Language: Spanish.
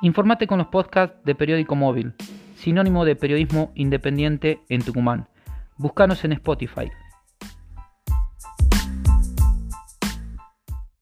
Informate con los podcasts de Periódico Móvil, sinónimo de periodismo independiente en Tucumán. Búscanos en Spotify.